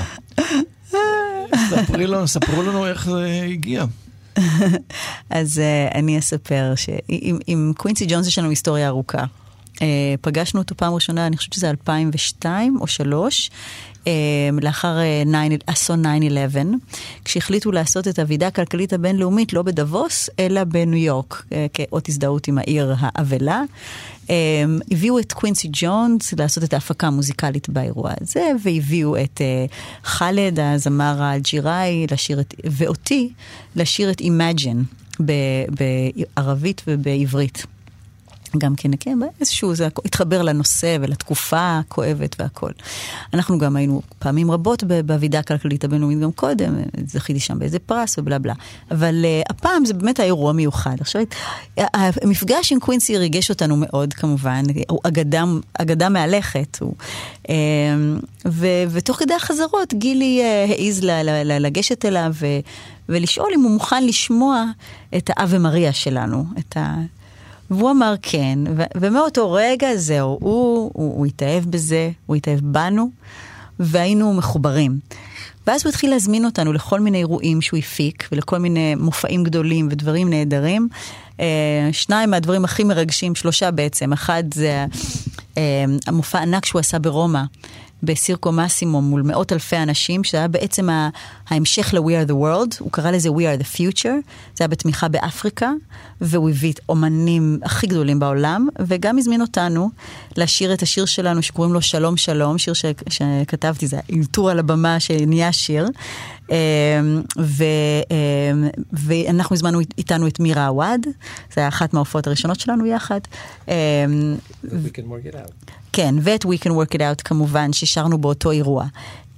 ספרי לנו, ספרו לנו איך זה הגיע. אז uh, אני אספר שעם עם קווינסי ג'ונס יש לנו היסטוריה ארוכה. Uh, פגשנו אותו פעם ראשונה, אני חושבת שזה אלפיים ושתיים או שלוש, uh, לאחר uh, אסון תשע אחת עשרה, כשהחליטו לעשות את הוועידה הכלכלית הבינלאומית לא בדבוס, אלא בניו יורק, uh, כאות הזדהות עם העיר האבלה. Um, הביאו את קווינסי ג'ונס לעשות את ההפקה המוזיקלית באירוע הזה, והביאו את uh, חלד, הזמר האלג'יראי, לשיר את, ואותי, לשיר את Imagine בערבית ובעברית. גם כן, כן, איזשהו, זה התחבר לנושא ולתקופה הכואבת והכל. אנחנו גם היינו פעמים רבות בוועידה הכלכלית הבינלאומית גם קודם, זכיתי שם באיזה פרס ובלה בלה. אבל uh, הפעם זה באמת האירוע מיוחד. עכשיו, המפגש עם קווינסי ריגש אותנו מאוד, כמובן. הוא אגדה, אגדה מהלכת. הוא, um, ו, ותוך כדי החזרות, גילי uh, העיז ל, ל, ל, לגשת אליו ו, ולשאול אם הוא מוכן לשמוע את האווה מריה שלנו, את ה... והוא אמר כן, ו- ומאותו רגע זהו, הוא, הוא, הוא התאהב בזה, הוא התאהב בנו, והיינו מחוברים. ואז הוא התחיל להזמין אותנו לכל מיני אירועים שהוא הפיק, ולכל מיני מופעים גדולים ודברים נהדרים. שניים מהדברים הכי מרגשים, שלושה בעצם. אחד זה המופע ענק שהוא עשה ברומא, בסירקו מאסימו מול מאות אלפי אנשים, שזה היה בעצם ההמשך ל-We are the world, הוא קרא לזה We are the future, זה היה בתמיכה באפריקה, והוא הביא את אומנים הכי גדולים בעולם, וגם הזמין אותנו לשיר את השיר שלנו שקוראים לו שלום שלום, שיר ש- שכתבתי, זה אילתור על הבמה שנהיה שיר, ו- ואנחנו הזמנו איתנו את מירה עווד, זה היה אחת מההופעות הראשונות שלנו יחד. We can work it out. כן, ואת We Can Work It Out כמובן, ששרנו באותו אירוע.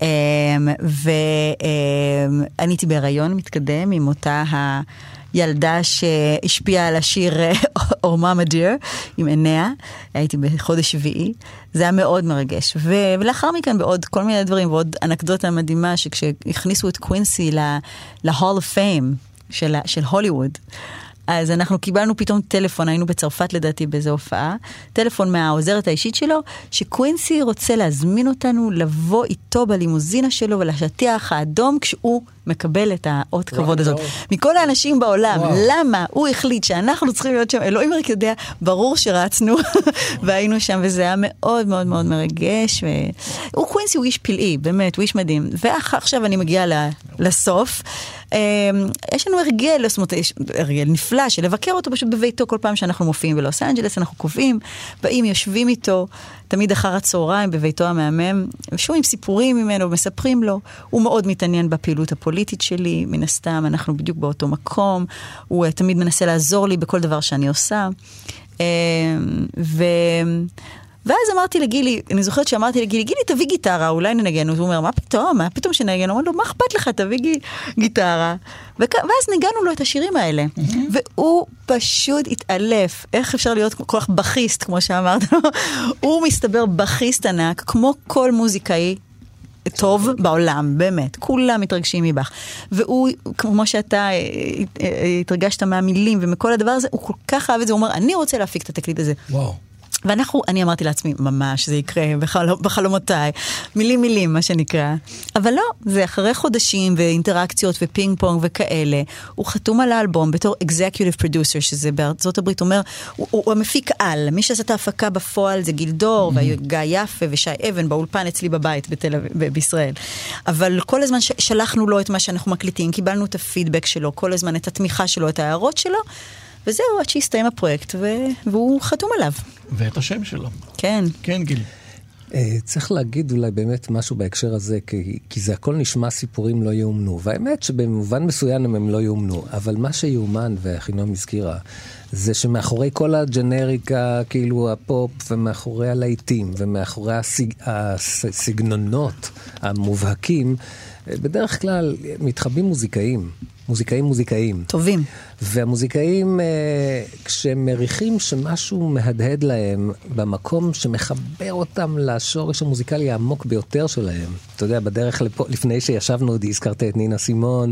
ואני הייתי בהיריון מתקדם עם אותה הילדה שהשפיעה על השיר אורמה מדיר, עם עיניה, הייתי בחודש שביעי, זה היה מאוד מרגש. ולאחר מכן בעוד כל מיני דברים, ועוד אנקדוטה מדהימה, שכשהכניסו את קווינסי ל-Hall of Fame של הוליווד, אז אנחנו קיבלנו פתאום טלפון, היינו בצרפת לדעתי באיזו הופעה, טלפון מהעוזרת האישית שלו, שקווינסי רוצה להזמין אותנו לבוא איתו בלימוזינה שלו ולשטיח האדום כשהוא מקבל את האות כבוד הזאת. מכל האנשים בעולם, למה הוא החליט שאנחנו צריכים להיות שם, אלוהים רק יודע, ברור שרצנו והיינו שם, וזה היה מאוד מאוד מאוד מרגש. הוא קווינסי הוא איש פלאי, באמת, הוא איש מדהים. ועכשיו אני מגיעה לסוף. יש לנו הרגל, זאת אומרת, הרגל נפלא של לבקר אותו פשוט בביתו כל פעם שאנחנו מופיעים בלוס אנג'לס, אנחנו קובעים, באים, יושבים איתו, תמיד אחר הצהריים בביתו המהמם, שומעים סיפורים ממנו, מספרים לו, הוא מאוד מתעניין בפעילות הפוליטית שלי, מן הסתם, אנחנו בדיוק באותו מקום, הוא תמיד מנסה לעזור לי בכל דבר שאני עושה, ו... ואז אמרתי לגילי, אני זוכרת שאמרתי לגילי, גילי תביא גיטרה, אולי ננגן, הוא אומר, מה פתאום, מה פתאום שנגן? הוא אומר לו, מה אכפת לך, תביא גיטרה. ואז נגענו לו את השירים האלה. והוא פשוט התעלף, איך אפשר להיות כל כך בכיסט, כמו שאמרת, הוא מסתבר בכיסט ענק, כמו כל מוזיקאי טוב בעולם, באמת, כולם מתרגשים מבך. והוא, כמו שאתה התרגשת מהמילים ומכל הדבר הזה, הוא כל כך אהב את זה, הוא אומר, אני רוצה להפיק את התקליט הזה. וואו. ואנחנו, אני אמרתי לעצמי, ממש, זה יקרה בחל, בחלומותיי, מילים מילים, מה שנקרא. אבל לא, זה אחרי חודשים ואינטראקציות ופינג פונג וכאלה. הוא חתום על האלבום בתור executive producer, שזה בארצות הברית, אומר, הוא, הוא, הוא המפיק על, מי שעשה את ההפקה בפועל זה גילדור, mm-hmm. וגיא יפה ושי אבן באולפן אצלי בבית בתל אביב, ב- בישראל. אבל כל הזמן ש- שלחנו לו את מה שאנחנו מקליטים, קיבלנו את הפידבק שלו, כל הזמן את התמיכה שלו, את ההערות שלו, וזהו, עד שהסתיים הפרויקט, ו... והוא חתום עליו. ואת השם שלו. כן. כן, גיל. צריך להגיד אולי באמת משהו בהקשר הזה, כי, כי זה הכל נשמע סיפורים לא יאומנו, והאמת שבמובן מסוים הם לא יאומנו, אבל מה שיאומן, והחינום הזכירה, זה שמאחורי כל הג'נריקה, כאילו הפופ, ומאחורי הלהיטים, ומאחורי הסיג... הסגנונות המובהקים, בדרך כלל מתחבאים מוזיקאים. מוזיקאים מוזיקאים. טובים. והמוזיקאים, כשהם מריחים שמשהו מהדהד להם במקום שמחבר אותם לשורש המוזיקלי העמוק ביותר שלהם. אתה יודע, בדרך לפה, לפני שישבנו, עוד הזכרת את נינה סימון.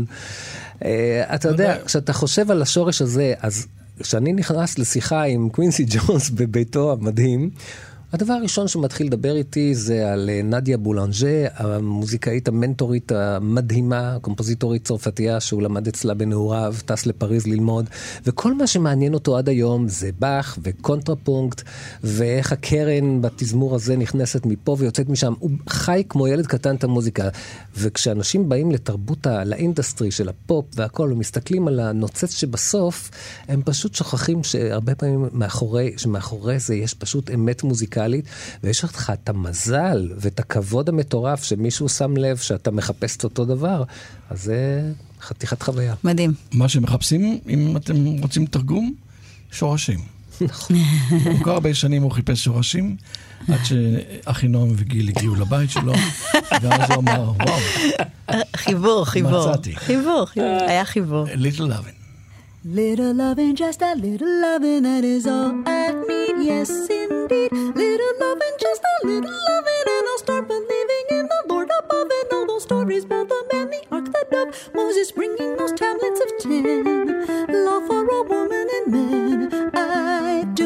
אתה יודע, כשאתה חושב על השורש הזה, אז כשאני נכנס לשיחה עם קווינסי ג'ונס בביתו המדהים, הדבר הראשון שמתחיל לדבר איתי זה על נדיה בולנג'ה, המוזיקאית המנטורית המדהימה, הקומפוזיטורית צרפתייה שהוא למד אצלה בנעוריו, טס לפריז ללמוד, וכל מה שמעניין אותו עד היום זה באך וקונטרפונקט, ואיך הקרן בתזמור הזה נכנסת מפה ויוצאת משם. הוא חי כמו ילד קטן את המוזיקה, וכשאנשים באים לתרבות, לאינדסטרי של הפופ והכל, ומסתכלים על הנוצץ שבסוף, הם פשוט שוכחים שהרבה פעמים מאחורי, שמאחורי זה יש פשוט אמת מוזיקה, ויש לך את המזל ואת הכבוד המטורף שמישהו שם לב שאתה מחפש את אותו דבר, אז זה חתיכת חוויה. מדהים. מה שמחפשים, אם אתם רוצים תרגום, שורשים. נכון. כל כך הרבה שנים הוא חיפש שורשים, עד שאחינום וגיל הגיעו לבית שלו, ואז הוא אמר, וואו. חיבור, חיבור. מצאתי. חיבור, חיבור. היה חיבור. Little Lovin'. Little loving, just a little loving, that is all I need, yes indeed. Little loving, just a little loving, and I'll start believing in the Lord above and all those stories about the man, the ark, the dove, Moses bringing those tablets of ten. Love for a woman and man, I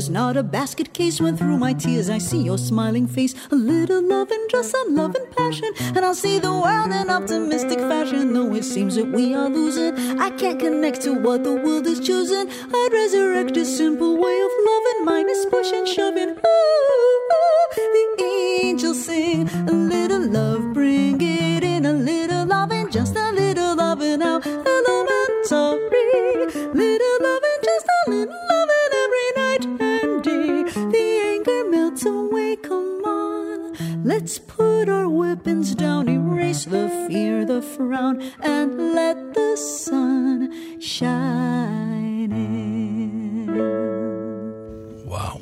is not a basket case. When through my tears I see your smiling face. A little love and just some love and passion, and I'll see the world in optimistic fashion. Though it seems that we are losing, I can't connect to what the world is choosing. I'd resurrect a simple way of loving, minus push and shoving. Ooh, ooh, the angels sing a little love, bring it in, a little love and just a little loving now. Elementary, little love and just a little loving every night and day. The anger melts away, come on, let's put our weapons down, erase the fear, the frown, and let the sun shine in. וואו.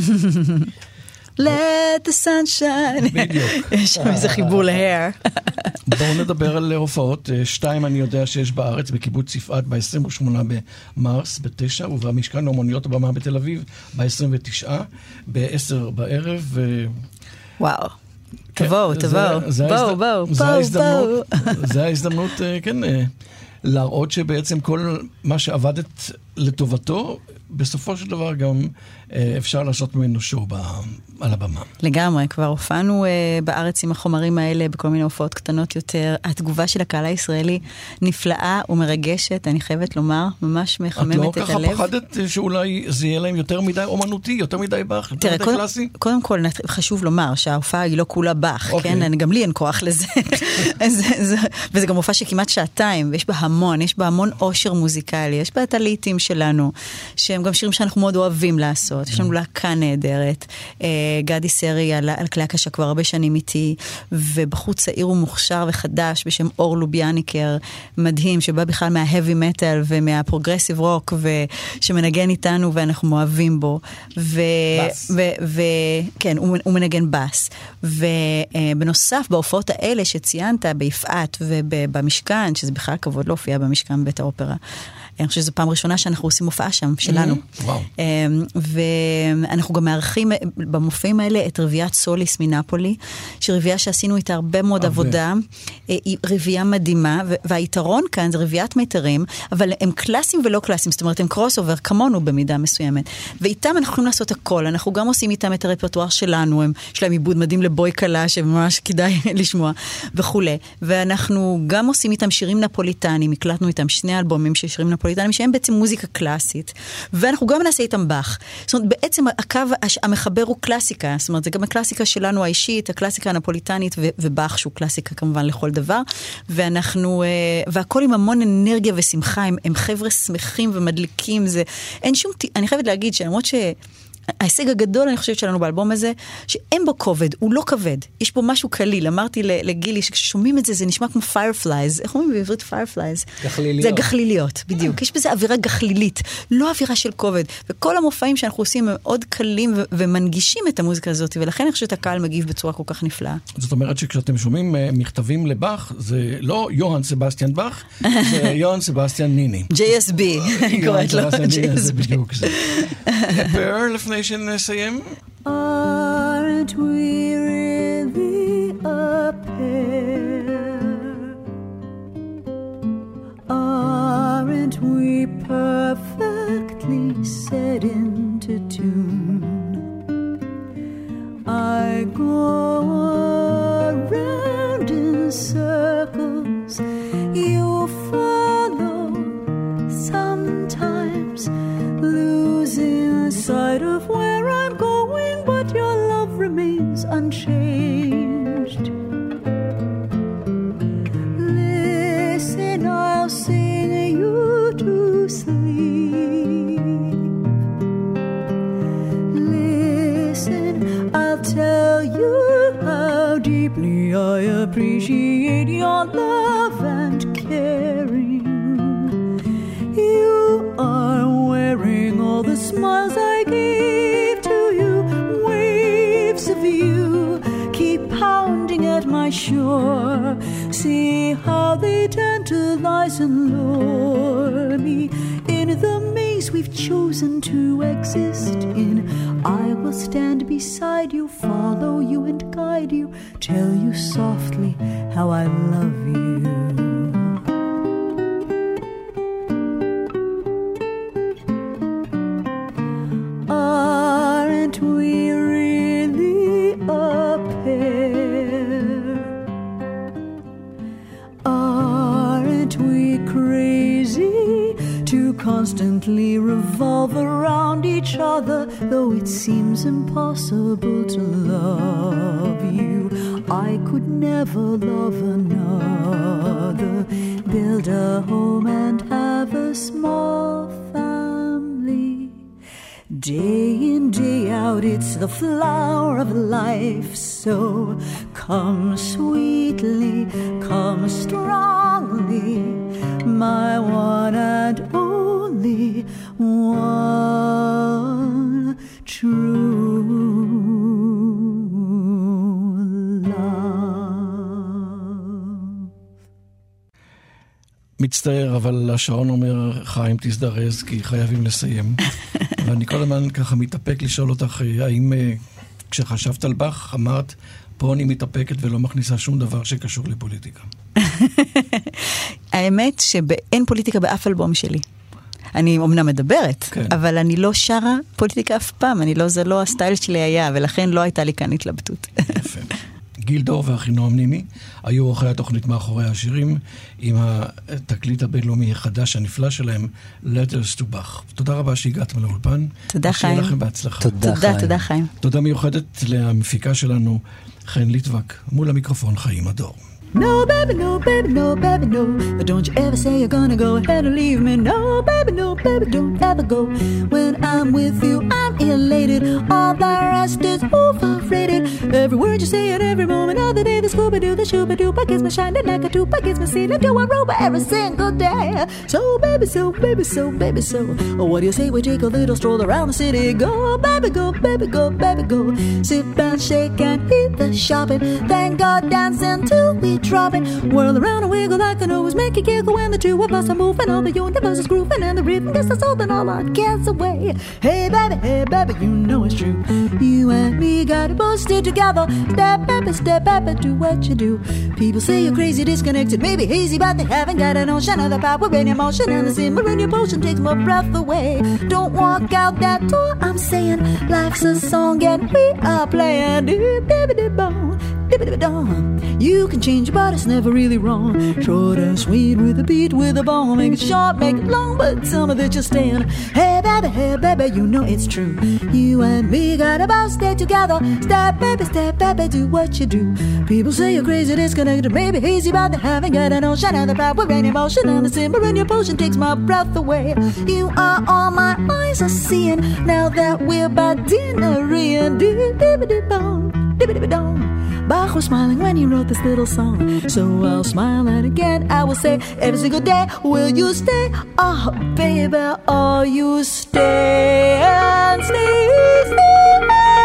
Let the sun shine. בדיוק. יש שם איזה חיבור להר. בואו נדבר על הופעות. שתיים אני יודע שיש בארץ, בקיבוץ יפעת ב-עשרים ושמונה במרס, בתשע, ובמשכן אומנויות הבמה בתל אביב ב-עשרים ותשע, ב-עשר בערב. וואו. תבואו, תבואו. בואו, בואו, בואו, בואו. זה ההזדמנות, כן, להראות שבעצם כל מה שעבדת לטובתו, בסופו של דבר גם אפשר לעשות ממנו שואו על הבמה. לגמרי, כבר הופענו בארץ עם החומרים האלה, בכל מיני הופעות קטנות יותר. התגובה של הקהל הישראלי נפלאה ומרגשת, אני חייבת לומר, ממש מחממת את הלב. את לא ככה פחדת שאולי זה יהיה להם יותר מדי אומנותי, יותר מדי באך, יותר מדי קלאסי? קודם כל, חשוב לומר שההופעה היא לא כולה באך, כן? גם לי אין כוח לזה. וזה גם הופעה שכמעט שעתיים, ויש בה המון, יש בה המון עושר מוזיקלי, יש בה את הלעיתים שלנו, שהם גם שירים שאנחנו מאוד אוהבים לעשות. יש לנו להקה נהדרת. גדי סרי על, על כלי הקשה כבר הרבה שנים איתי, ובחוץ צעיר ומוכשר וחדש בשם אור לוביאניקר, מדהים, שבא בכלל מההאבי מטל ומהפרוגרסיב רוק, ושמנגן איתנו ואנחנו אוהבים בו. ו, ו, ו, כן, הוא, הוא מנגן בס. ובנוסף, בהופעות האלה שציינת ביפעת ובמשכן, שזה בכלל כבוד להופיע במשכן בית האופרה, אני חושבת שזו פעם ראשונה שאנחנו עושים הופעה שם, שלנו. ואנחנו גם מארחים במופעים האלה את רביעת סוליס מנפולי, שרביעה שעשינו איתה הרבה מאוד עבודה, היא רביעה מדהימה, והיתרון כאן זה רביעת מיתרים, אבל הם קלאסים ולא קלאסים, זאת אומרת, הם קרוס אובר כמונו במידה מסוימת. ואיתם אנחנו יכולים לעשות הכל, אנחנו גם עושים איתם את הרפרטואר שלנו, יש להם עיבוד מדהים לבוי קלה, שממש כדאי לשמוע, וכו'. ואנחנו גם עושים איתם שירים נפוליטנים, הקלטנו איתם שני אלבומים של שירים נפוליטנים, שהם בעצם מוזיקה קלאסית, ואנחנו גם נעשה איתם באך. זאת אומרת, בעצם הקו המחבר הוא קלאסיקה, זאת אומרת, זה גם הקלאסיקה שלנו האישית, הקלאסיקה הנפוליטנית, ובאך שהוא קלאסיקה כמובן לכל דבר, ואנחנו, והכל עם המון אנרגיה ושמחה, הם, הם חבר'ה שמחים ומדליקים, זה, אין שום, אני חייבת להגיד שלמרות ש... ההישג הגדול, אני חושבת שלנו באלבום הזה, שאין בו כובד, הוא לא כבד. יש פה משהו קליל. אמרתי לגילי, שכששומעים את זה, זה נשמע כמו fireflies. איך אומרים בעברית fireflies? גחליליות. זה גחליליות, בדיוק. יש בזה אווירה גחלילית, לא אווירה של כובד. וכל המופעים שאנחנו עושים הם מאוד קלים ומנגישים את המוזיקה הזאת, ולכן אני חושבת שהקהל מגיב בצורה כל כך נפלאה. זאת אומרת שכשאתם שומעים מכתבים לבאך, זה לא יוהאן סבסטיאן באך, זה יוהאן סבסטיאן ניני. ג'יי אס בי, אני קוראת לו ג'יי אס בי. לפני שנסיים? Aren't we really a pair? Aren't we perfectly set into tune? I go around in circles, you follow, sometimes losing sight of where I'm going, but your love remains unchanged. Listen, I'll sing you to sleep. Listen, I'll tell you how deeply I appreciate your love and caring. You are wearing all the smiles I gave to you. Waves of you keep pounding at my shore. See how they tantalize and lure me in the maze we've chosen to exist in. I will stand beside you, follow you and guide you, tell you softly how I love you. constantly revolve around each other, though it seems impossible to love you. I could never love another, build a home and have a small family. Day in, day out, it's the flower of life. So come sweetly, come strongly, my one and only one true love. מצטער, אבל השעון אומר, חיים תזדרז, כי חייבים לסיים. ואני כל הזמן ככה מתאפק לשאול אותך, האם כשחשבת על בך, אמרת, פה אני מתאפקת ולא מכניסה שום דבר שקשור לפוליטיקה. האמת שאין פוליטיקה באף אלבום שלי. אני אומנם מדברת, כן. אבל אני לא שרה פוליטיקה אף פעם, אני לא, זה לא הסטייל שלי היה, ולכן לא הייתה לי כאן התלבטות. יפה. גיל דור ואחינועם ניני היו אורחי התוכנית מאחורי השירים עם התקליט הבינלאומי החדש הנפלא שלהם, Letters to Bach. תודה רבה שהגעתם לאולפן. תודה חיים. ושיהיה לכם בהצלחה. תודה, תודה, תודה חיים. תודה מיוחדת למפיקה שלנו, חן ליטבק, מול המיקרופון חיים הדור. No, baby, no, baby, no, baby, no. But don't you ever say you're gonna go ahead and leave me. No, baby, no, baby, don't ever go. When I'm with you, I'm elated. All the rest is overrated. Every word you say at every moment of the day, the Scooby-Doo, the Shooba-Doo, gets me shining like a tuba, gets me sealing to a rover every single day. So, baby, so, baby, so, baby, so. Oh, what do you say we take a little stroll around the city? Go, baby, go, baby, go, baby, go. Sit and shake and eat the shopping. Thank God dancing till we drop it. Whirl around and wiggle like an always make it giggle when the two of us are moving. All the universe is grooving and the rhythm gets us holding all our cares away. Hey baby, hey baby, you know it's true. You and me got it both still together. Step baby, step baby, do what you do. People say you're crazy, disconnected, maybe hazy, but they haven't got a notion of the power in your motion, and the simmer in your potion takes my breath away. Don't walk out that door, I'm saying life's a song and we are playing. You can change your body, it's never really wrong. Short and sweet with a beat, with a bone. Make it short, make it long, but tell me that you're staying. Hey baby, hey baby, you know it's true. You and me got about stay together. Step baby, step baby, do what you do. People say you're crazy, disconnected, maybe hazy, but they haven't got an ocean of the power in emotion, and the simmer in your potion takes my breath away. You are all my eyes are seeing now that we're by dinner-ing. Dibby-dibby-dibby-dong, dibby-dibby-dong. Bach was smiling when he wrote this little song. So I'll smile and again I will say, every single day, will you stay? Oh, baby, oh, you stay and stay, stay.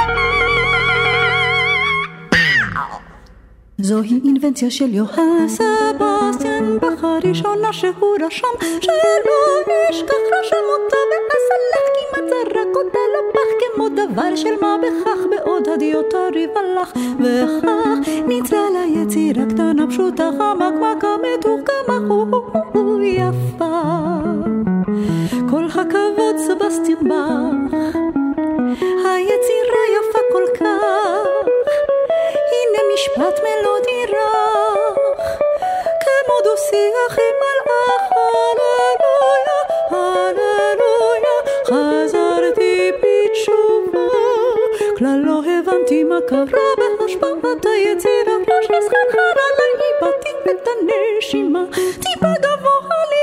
זוהי אינבנציה של יוהן סבסטיאן באך, הראשונה שהוא רשם, שלא נשכח רשם אותה ואז הלך, כמעט זרק אותה לפח כמו דבר של מה בכך, בעוד הדיוטה ריבה לך, וכך ניצלה ליצירה קטנה פשוטה, חמקמקה מתוחכמה, הוא יפה. כל הכבוד סבסטיאן באך, היצירה יפה כל כך, הנה משפט מלודי רך, כמו דו-שיח עם מלאך, הללויה, הללויה, חזרתי בתשובה, כלל לא הבנתי מה קרה בהשפעת היצירה, ראש נסחרחר עליי, איבדתי את הנשימה, טיפה גבוה לי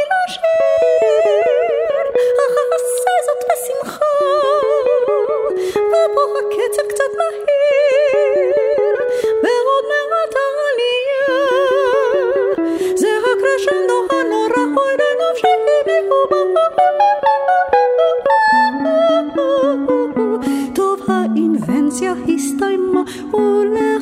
לשיר, אך אעשה זאת בשמחה, ופה הקצב קצת מהיר, ועוד מעט העלייה, זה הקרשנדו הנורא, אוי לנפשי נהובה. טוב, האינבנציה הסתיימה, אולי